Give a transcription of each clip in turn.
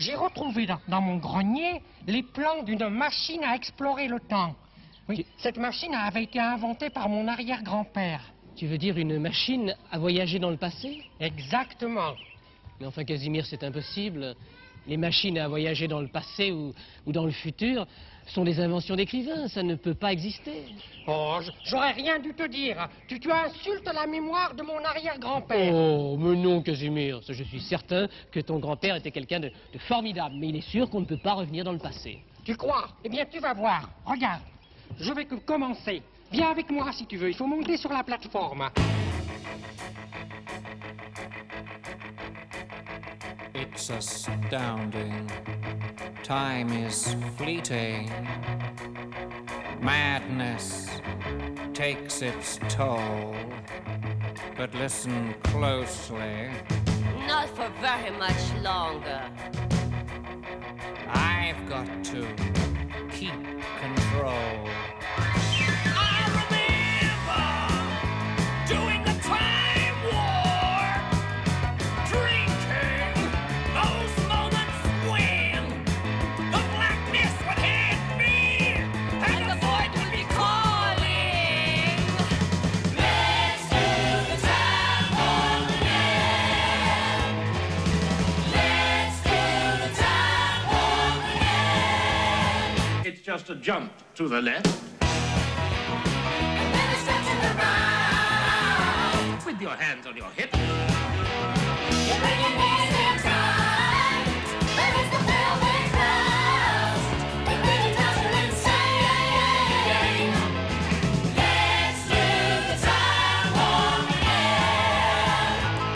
j'ai retrouvé dans mon grenier les plans d'une machine à explorer le temps. Oui, cette machine avait été inventée par mon arrière-grand-père. Tu veux dire une machine à voyager dans le passé? Exactement. Mais enfin, Casimir, c'est impossible. Les machines à voyager dans le passé ou dans le futur sont des inventions d'écrivains. Ça ne peut pas exister. Oh, j'aurais rien dû te dire. Tu insultes la mémoire de mon arrière-grand-père. Oh, mais non, Casimir. Je suis certain que ton grand-père était quelqu'un de formidable. Mais il est sûr qu'on ne peut pas revenir dans le passé. Tu crois? Eh bien, tu vas voir. Regarde, je vais commencer. Viens avec moi si tu veux. Il faut monter sur la plateforme. It's astounding. Time is fleeting. Madness takes its toll. But listen closely. Not for very much longer. I've got to keep control. Just a jump to the left. And then a step to the right. With your hands on your hips. You bring your knees in tight. There is the velvet crust. It really does you insane. Let's do the time warp again.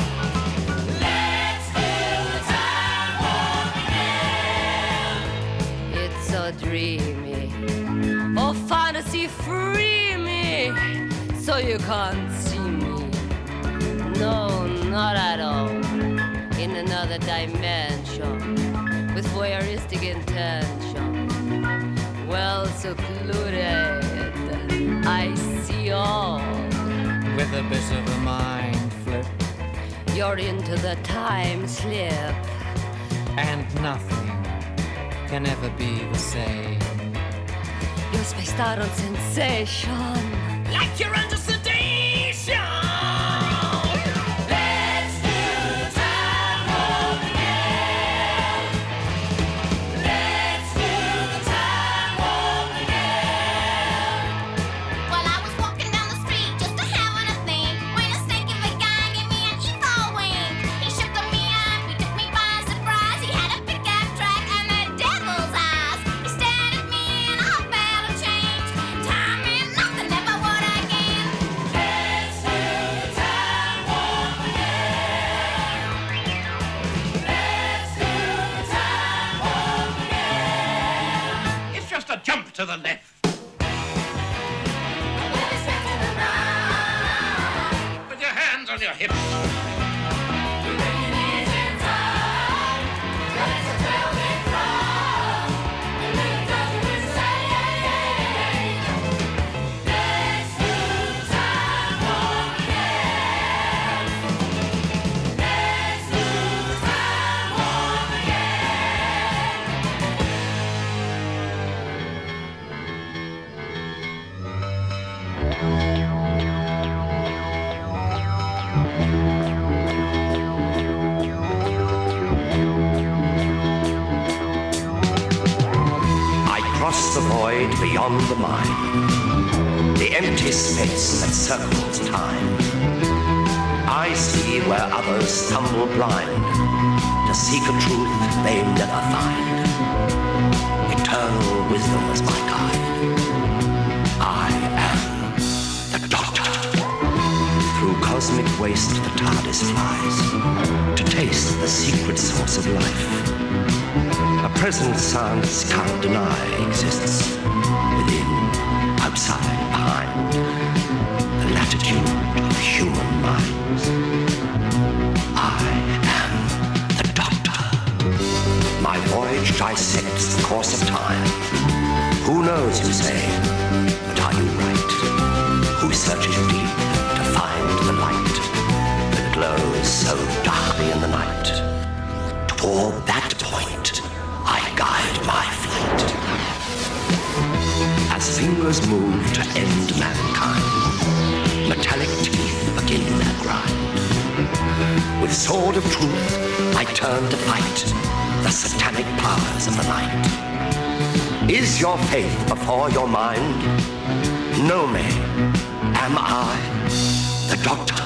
Let's do the time warp again. It's so dreamy. Oh, fantasy, free me, so you can't see me. No, not at all. In another dimension, with voyeuristic intention. Well secluded, I see all. With a bit of a mind flip. You're into the time slip. And nothing can ever be the same. You're spaced out on sensation. Like you're under sedation. Let's do the time warp again. Let's do the time warp again. Well, I was walking down the street just having a think when a snake of a guy gave me an evil wink. He shook me up, he took me by surprise. He had a pickup truck and the devil's eyes. He stared at me and I felt a change. Time and nothing ever would again. Let's do the time warp again. Let's do the time warp again. It's just a jump to the left. And then a step to the right. With your hands on your hips. You bring your knees in tight. There is a velvet crust. It really does you insane. Let's do the time warp again. Let's do the time warp I cross the void beyond the mind, the empty space that circles time. I see where others stumble blind to seek a truth they never find. Eternal wisdom is my guide. I am the Doctor. Through cosmic waste the TARDIS flies to taste the secret source of life. A present science can't deny exists within, outside, behind the latitude of human minds. I am the Doctor. My voyage dissects the course of time. Who knows, you say, but are you right? Who searches deep to find the light that glows so darkly in the night? Toward that point, fingers move to end mankind. Metallic teeth begin their grind. With sword of truth, I turn to fight the satanic powers of the night. Is your faith before your mind? Know me. Am I the Doctor?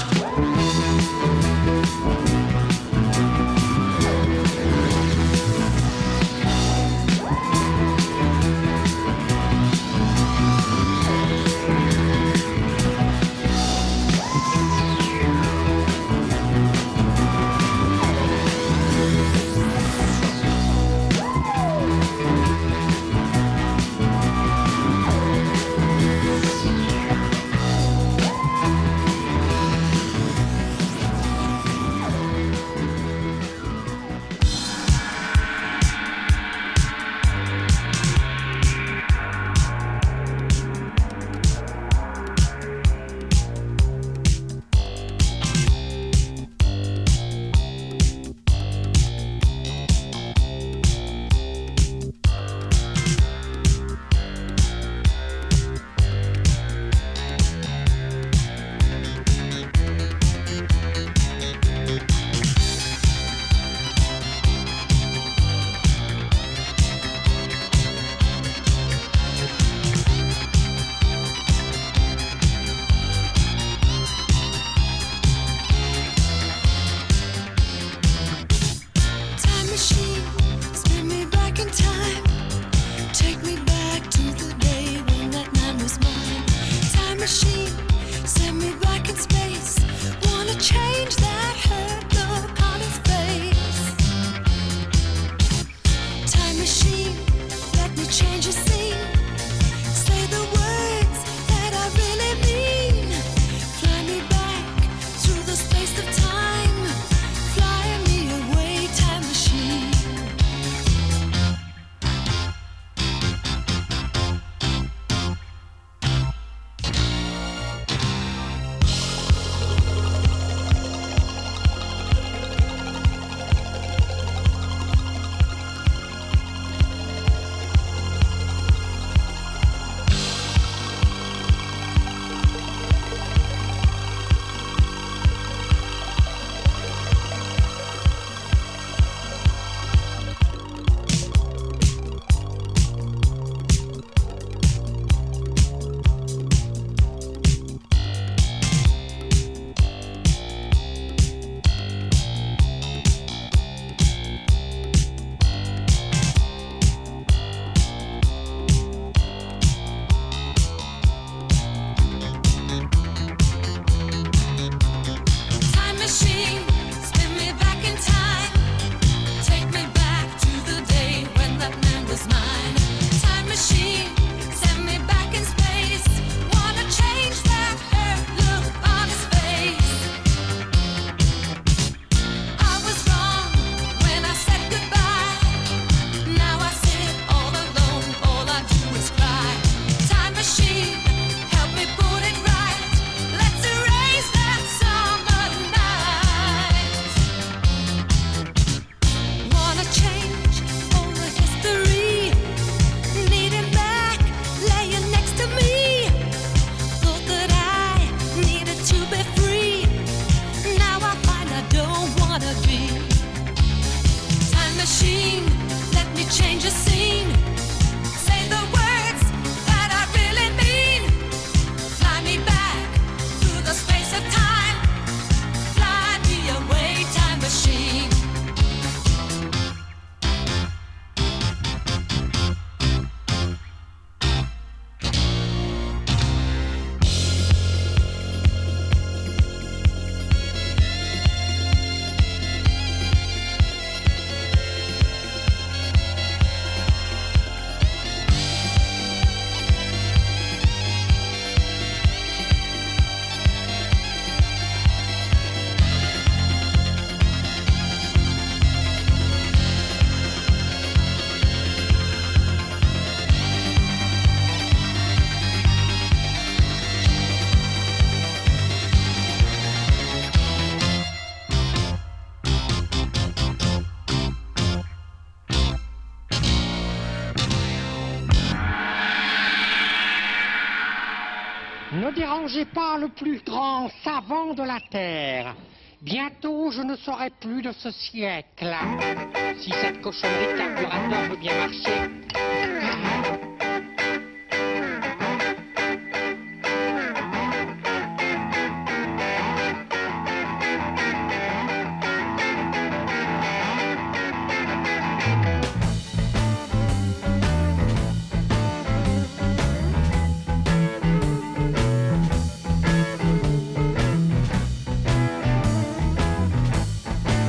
Ne dérangez pas le plus grand savant de la Terre. Bientôt, je ne serai plus de ce siècle. Si cette cochonnerie de carburateur veut bien marcher.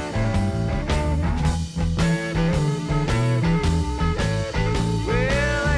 Well,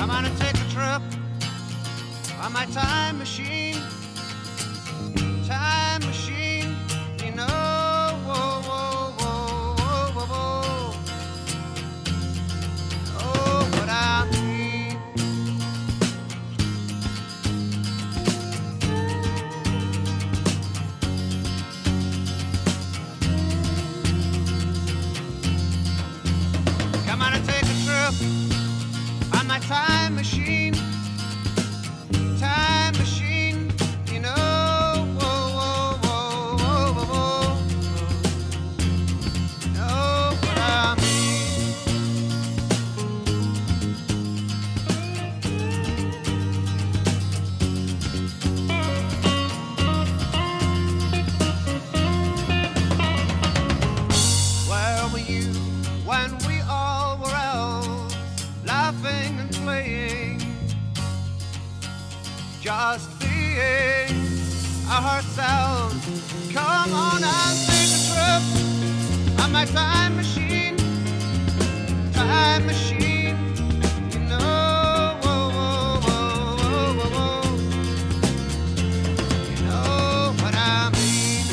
I'm gonna take a trip on my time machine. Time machine, you know. Whoa, whoa, whoa, whoa, whoa, whoa. Oh, what I mean. Come on and take a trip on my time machine. Time machine, you know. Whoa, whoa, whoa, whoa, whoa, whoa. You know what I mean. Where were you when we all were elves, laughing and playing, just being ourselves? Come on and take a trip on my time machine. Time machine, you know. Whoa, whoa, whoa, whoa, whoa, whoa. You know what I mean.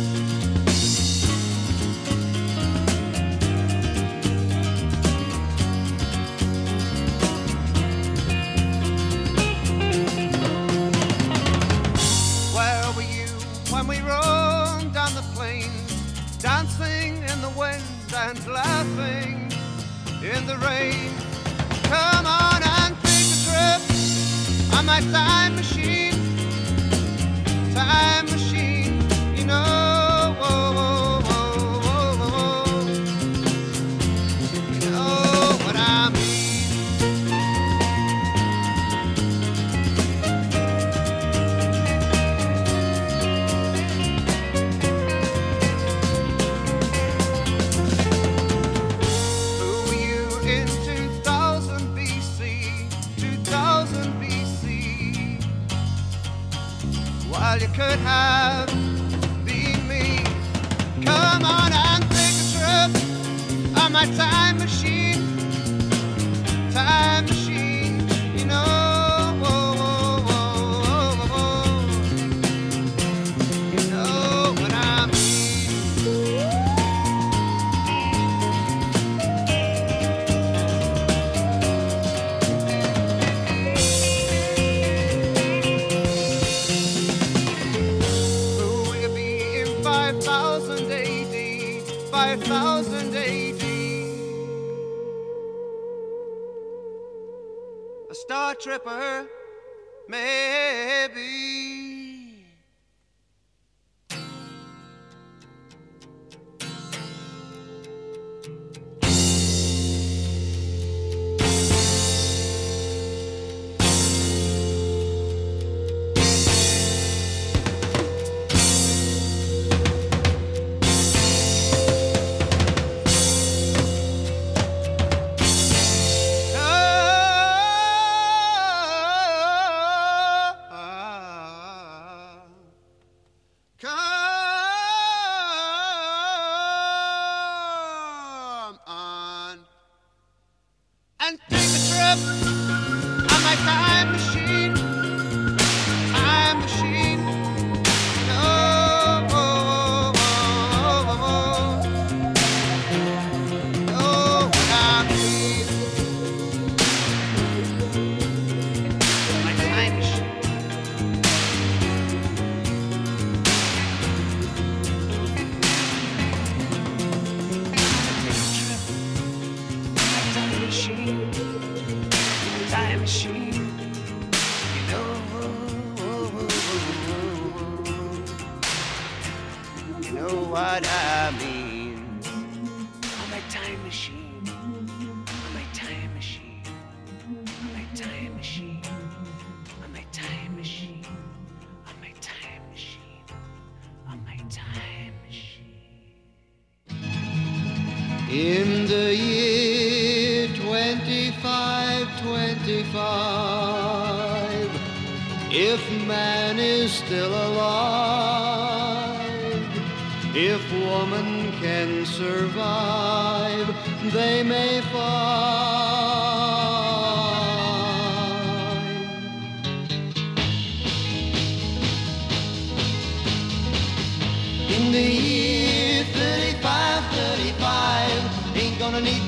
Where were you when we roamed down the plains, dancing in the wind and laughing in the rain? Come on and take a trip on my time machine. Time machine, you know. Whoa, whoa, whoa, whoa, whoa, whoa. You know what I mean. Who were you in 2000 BC? 2000 BC. Well, you could have been me. Come on and take a trip on my time machine. Time machine, you know. Whoa, whoa, whoa, whoa, whoa. You know what I mean. Who will you be in 5000 AD? 5000 AD. A star tripper, maybe. Come on and take a trip on my time machine. Time machine. No, whoa, whoa, whoa, whoa. Know what I mean. My time machine. Time machine, time machine, you know, you know what I mean. On my time machine, on my time machine, on my time machine, on my time machine, on my time machine, on my time machine. In the year 2525, if man is still alive, if woman can survive, they may find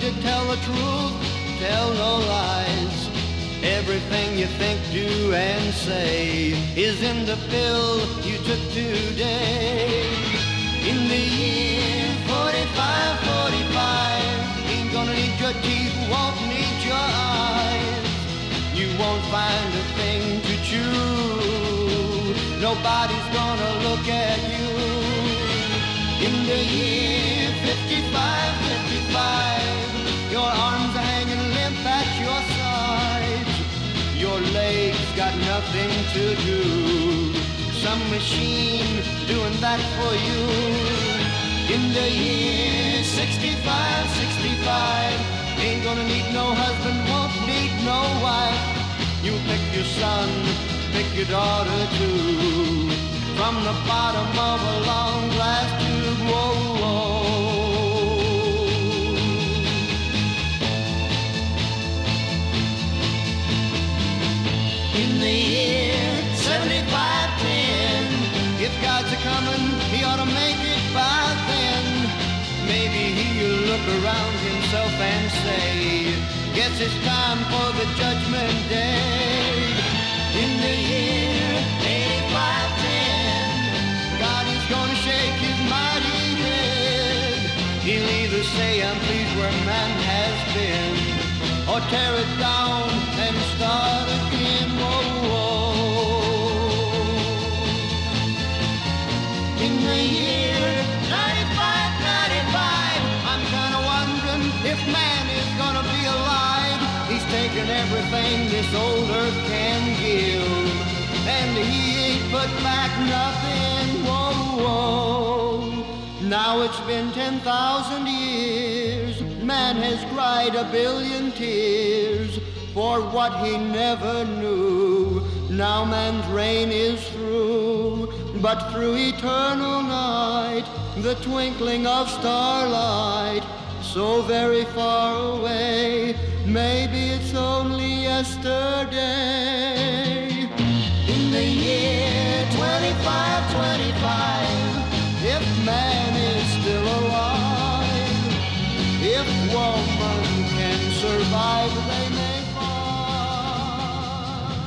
to tell the truth, tell no lies. Everything you think, do, and say is in the pill you took today. In the year 45, 45, ain't gonna need your teeth, won't need your eyes. You won't find a thing to chew. Nobody's gonna look at you. In the year 55, 55, your arms are hanging limp at your sides. Your legs got nothing to do. Some machine doing that for you. In the year 65, 65, ain't gonna need no husband, won't need no wife. You pick your son, pick your daughter too. From the bottom of a long glass tube, whoa, whoa. In the year 75, 10, if God's a-comin', he ought to make it by then. Maybe he'll look around himself and say, guess it's time for the judgment day. In the year 85, 10, God is gonna shake his mighty head. He'll either say, I'm pleased where man has been, or tear it down and start again. Whoa, whoa. In the year 95, 95, I'm kinda wondering if man is gonna be alive. He's taken everything this old earth can give, and he ain't put back nothing. Whoa, whoa. Now it's been 10,000 years. Man has cried a billion tears for what he never knew. Now man's reign is through, but through eternal night, the twinkling of starlight, so very far away, maybe it's only yesterday. In the year 25, 25, if man is still alive, if woman can survive, they may find.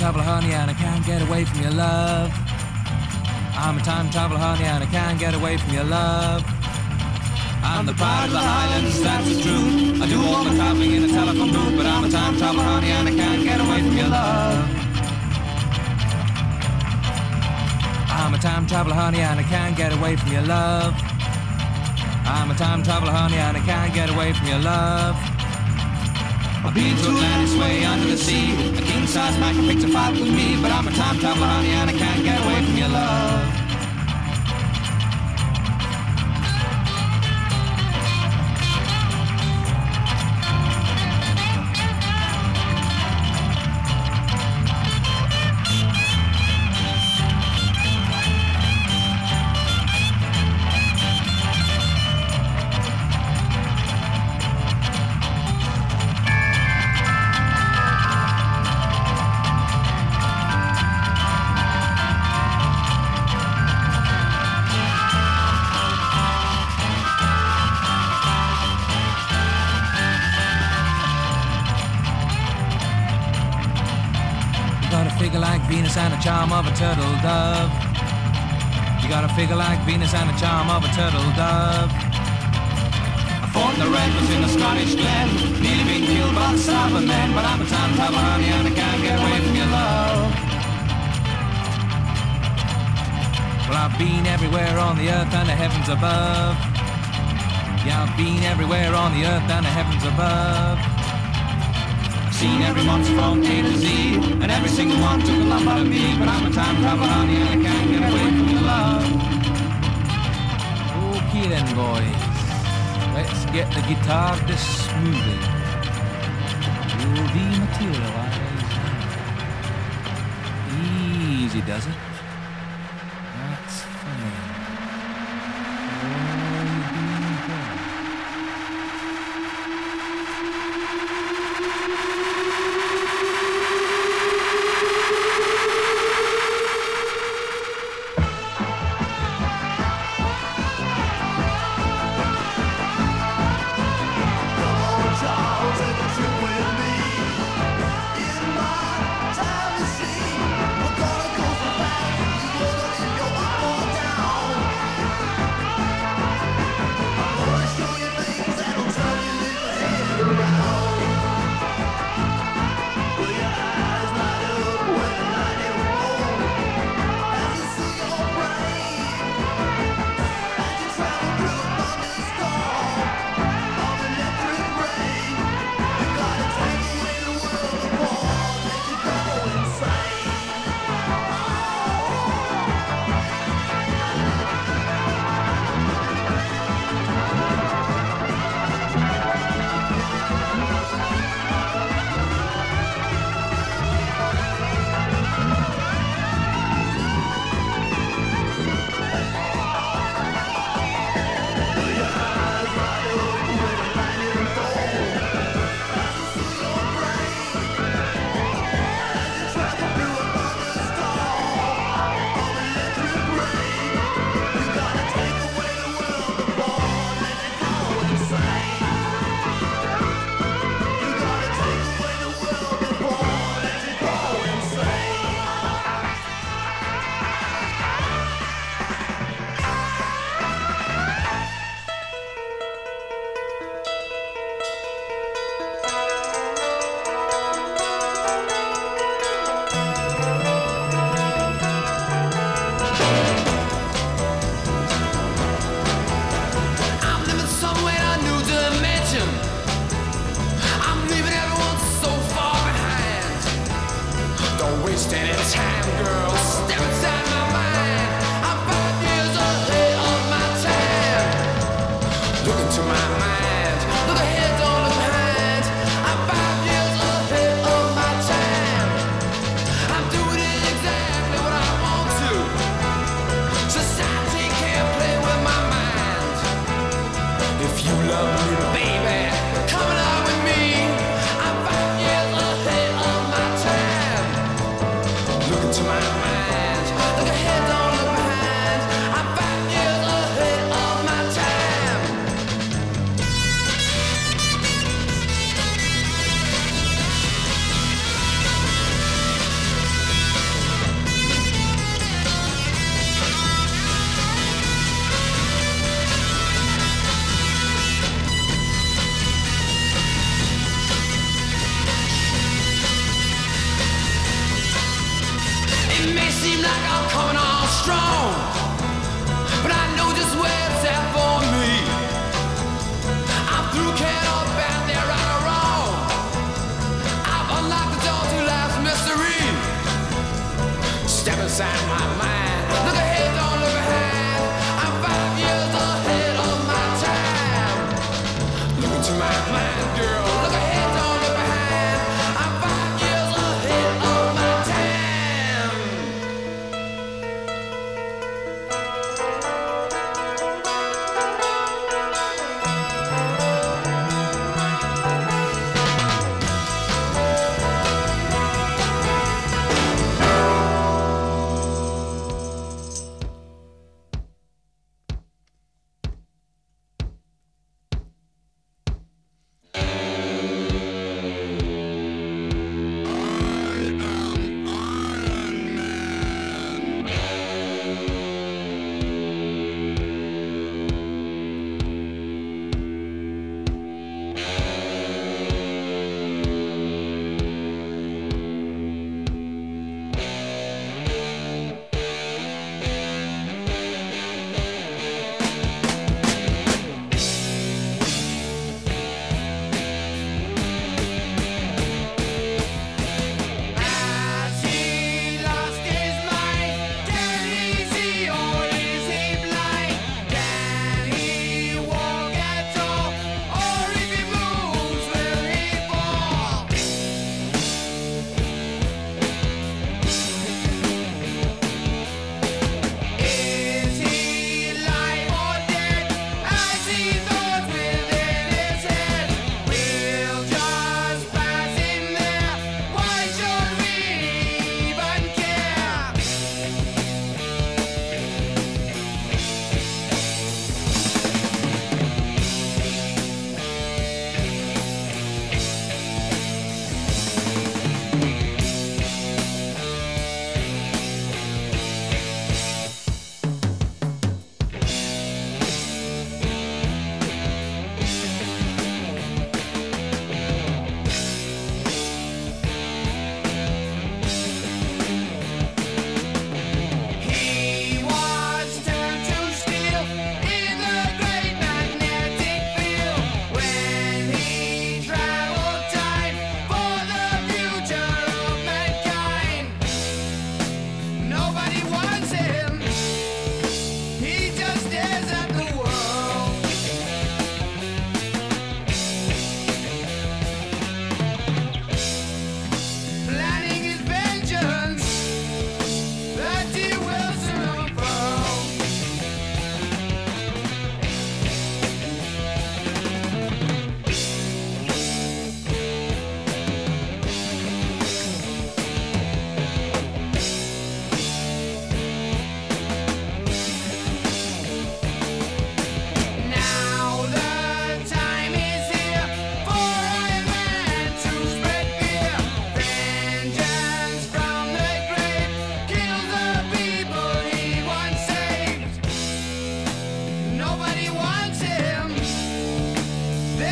traveler, honey, and I can't get away from your love. I'm a time traveler, honey, and I can't get away from your love. I'm the pride of the Highlands, that's the truth. I do all my traveling in a telephone booth, but I'm a time traveler, honey, and I can't get away from your love. I'm a time traveler, honey, and I can't get away from your love. I'm a time traveler, honey, and I can't get away from your love. I've been to Atlantis way under the sea. A king-size man can picture fight with me, but I'm a time traveler, honey, and I can't get away from your love. Venus and a charm of a turtle dove. You got a figure like Venus and a charm of a turtle dove. I fought the red was in the Scottish glen, nearly been killed by the starboard men, but I'm a time traveler, honey, and I can't get away from your love. Well, I've been everywhere on the earth and the heavens above. Yeah, I've been everywhere on the earth and the heavens above. Seen every monster from A to Z, and every single one took a lump out of me, but I'm a time traveler, honey, and I can't get away from your love. Okay then, boys, let's get the guitar dismoving. You'll dematerialize. Easy does it. That's fine. We're gonna go for fast.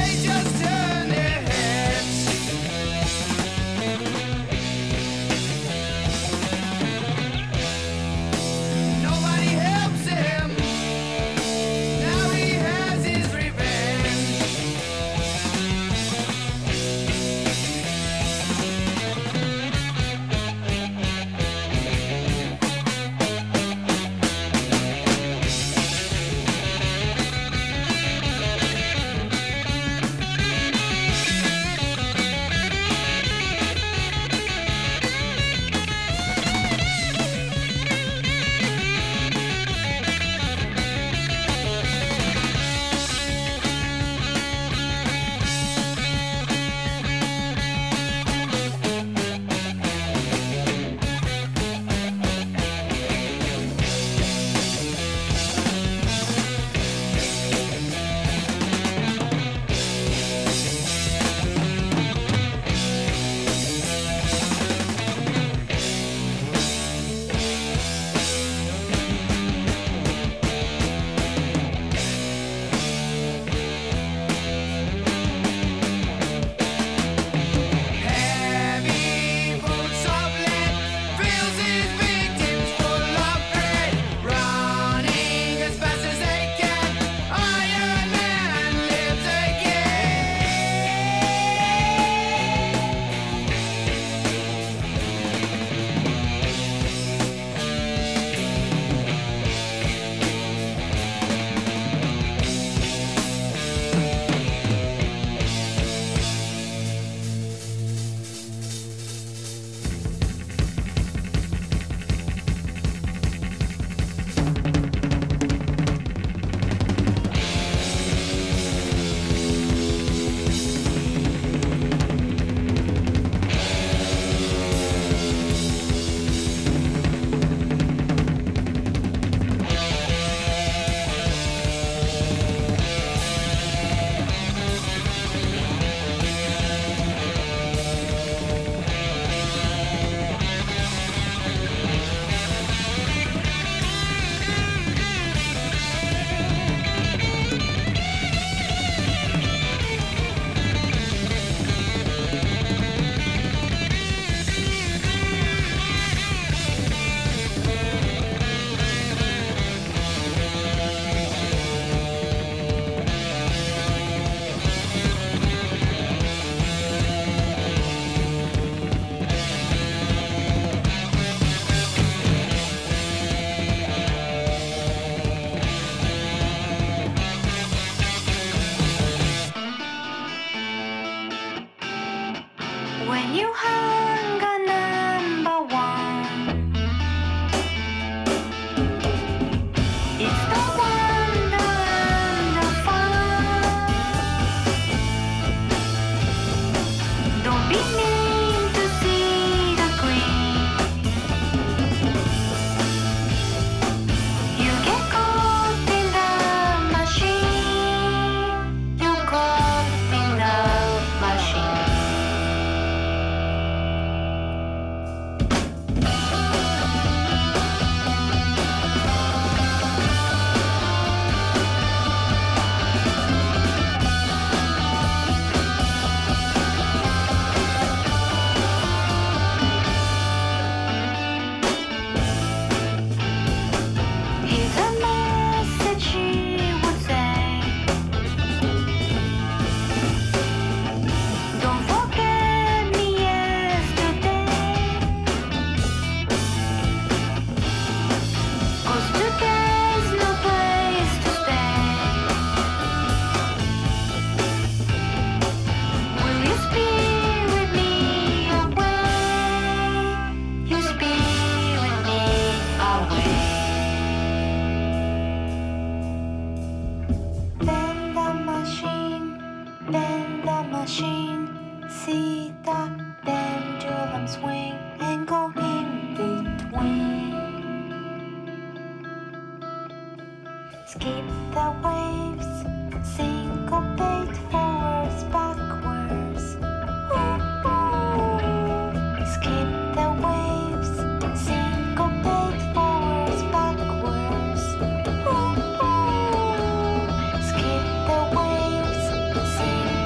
they just turn their heads. Nobody helps him. Now he has his revenge. Heavy boots of lead fills his victims full of dread. Running as fast as they can, Iron Man lives when you hung a number one, it's the wonder and the fun. Don't be mean to see the green. You get caught in the machine. You caught in the machine. Here's a message she would say. Don't forget me yesterday. 'Cause today's no place to stay. Will you spirit me away? You spirit me away. Bend the machine, see the pendulum swing and go in between. Skip the waves, syncopate forwards, backwards. Ooh, ooh. Skip the waves, syncopate forwards, backwards. Ooh, ooh. Skip the waves, syncopate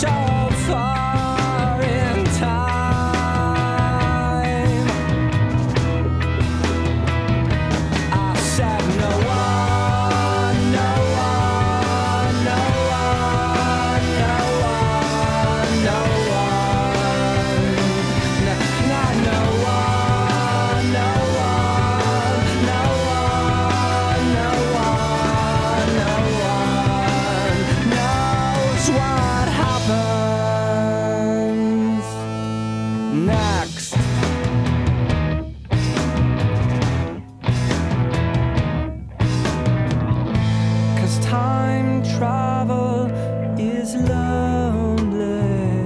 so far in time. I said no one, no one, no one, no one, no one, no, not no one, no one, no one, no one, no one knows what happens next. Cause time travel is lonely.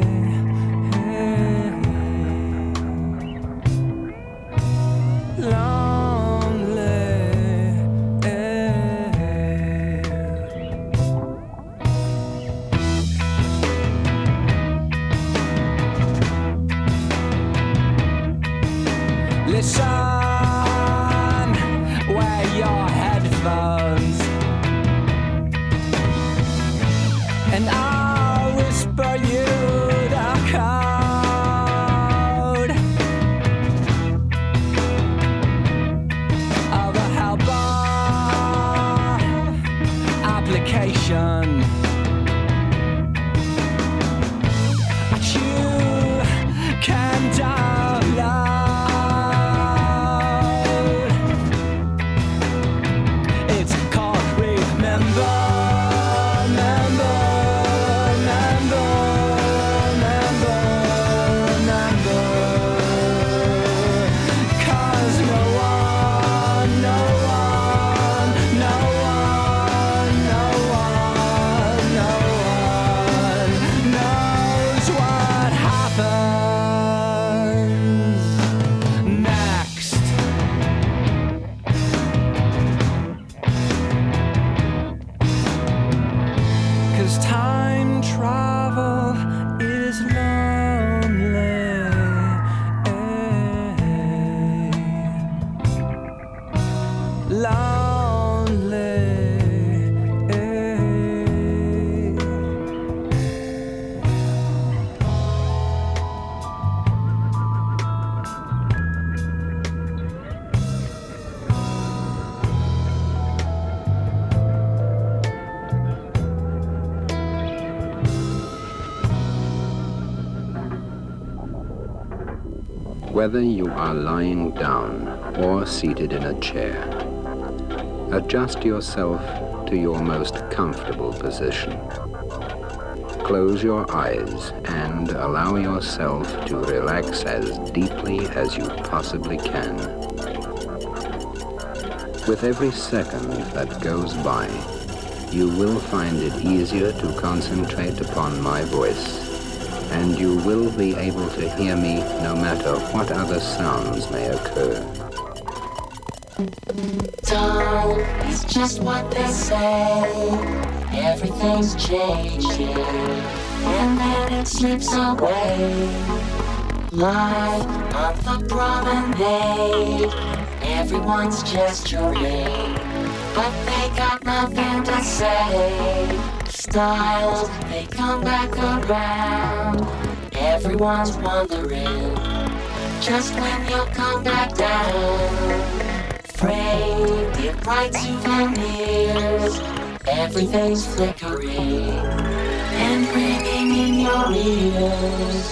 Listen, wear your headphones, and I'll whisper you the code of a helper application. And you can download. It's called Remember. Time travel is lonely. Whether you are lying down or seated in a chair, adjust yourself to your most comfortable position. Close your eyes and allow yourself to relax as deeply as you possibly can. With every second that goes by, you will find it easier to concentrate upon my voice, and you will be able to hear me no matter what other sounds may occur. Time is just what they say. Everything's changing, and then it slips away. Life on the promenade, everyone's gesturing, but they got nothing to say. Styles, they come back around, everyone's wondering just when you'll come back down. Framed in bright souvenirs, everything's flickering and ringing in your ears.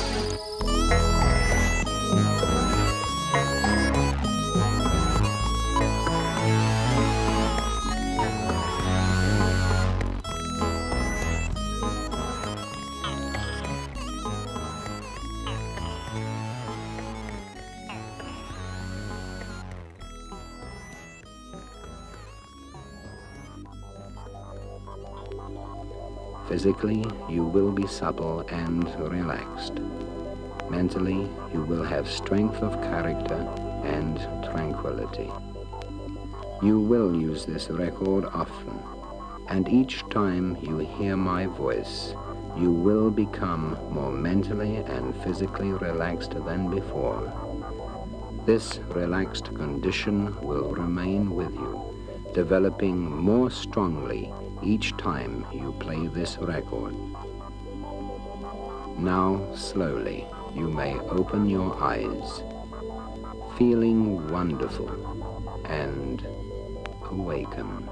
Physically, you will be supple and relaxed. Mentally, you will have strength of character and tranquility. You will use this record often, and each time you hear my voice, you will become more mentally and physically relaxed than before. This relaxed condition will remain with you, developing more strongly each time you play this record. Now, slowly, you may open your eyes, feeling wonderful and awaken.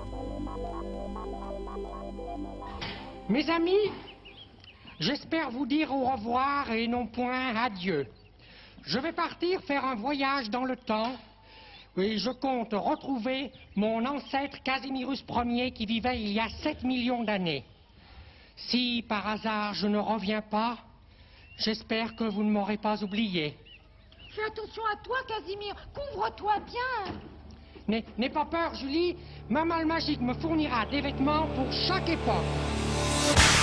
Mes amis, j'espère vous dire au revoir et non point adieu. Je vais partir faire un voyage dans le temps et je compte retrouver mon ancêtre Casimirus Ier qui vivait il y a 7 millions d'années. Si par hasard je ne reviens pas, j'espère que vous ne m'aurez pas oublié. Fais attention à toi, Casimir. Couvre-toi bien. N'aie pas peur, Julie. Ma malle magique me fournira des vêtements pour chaque époque.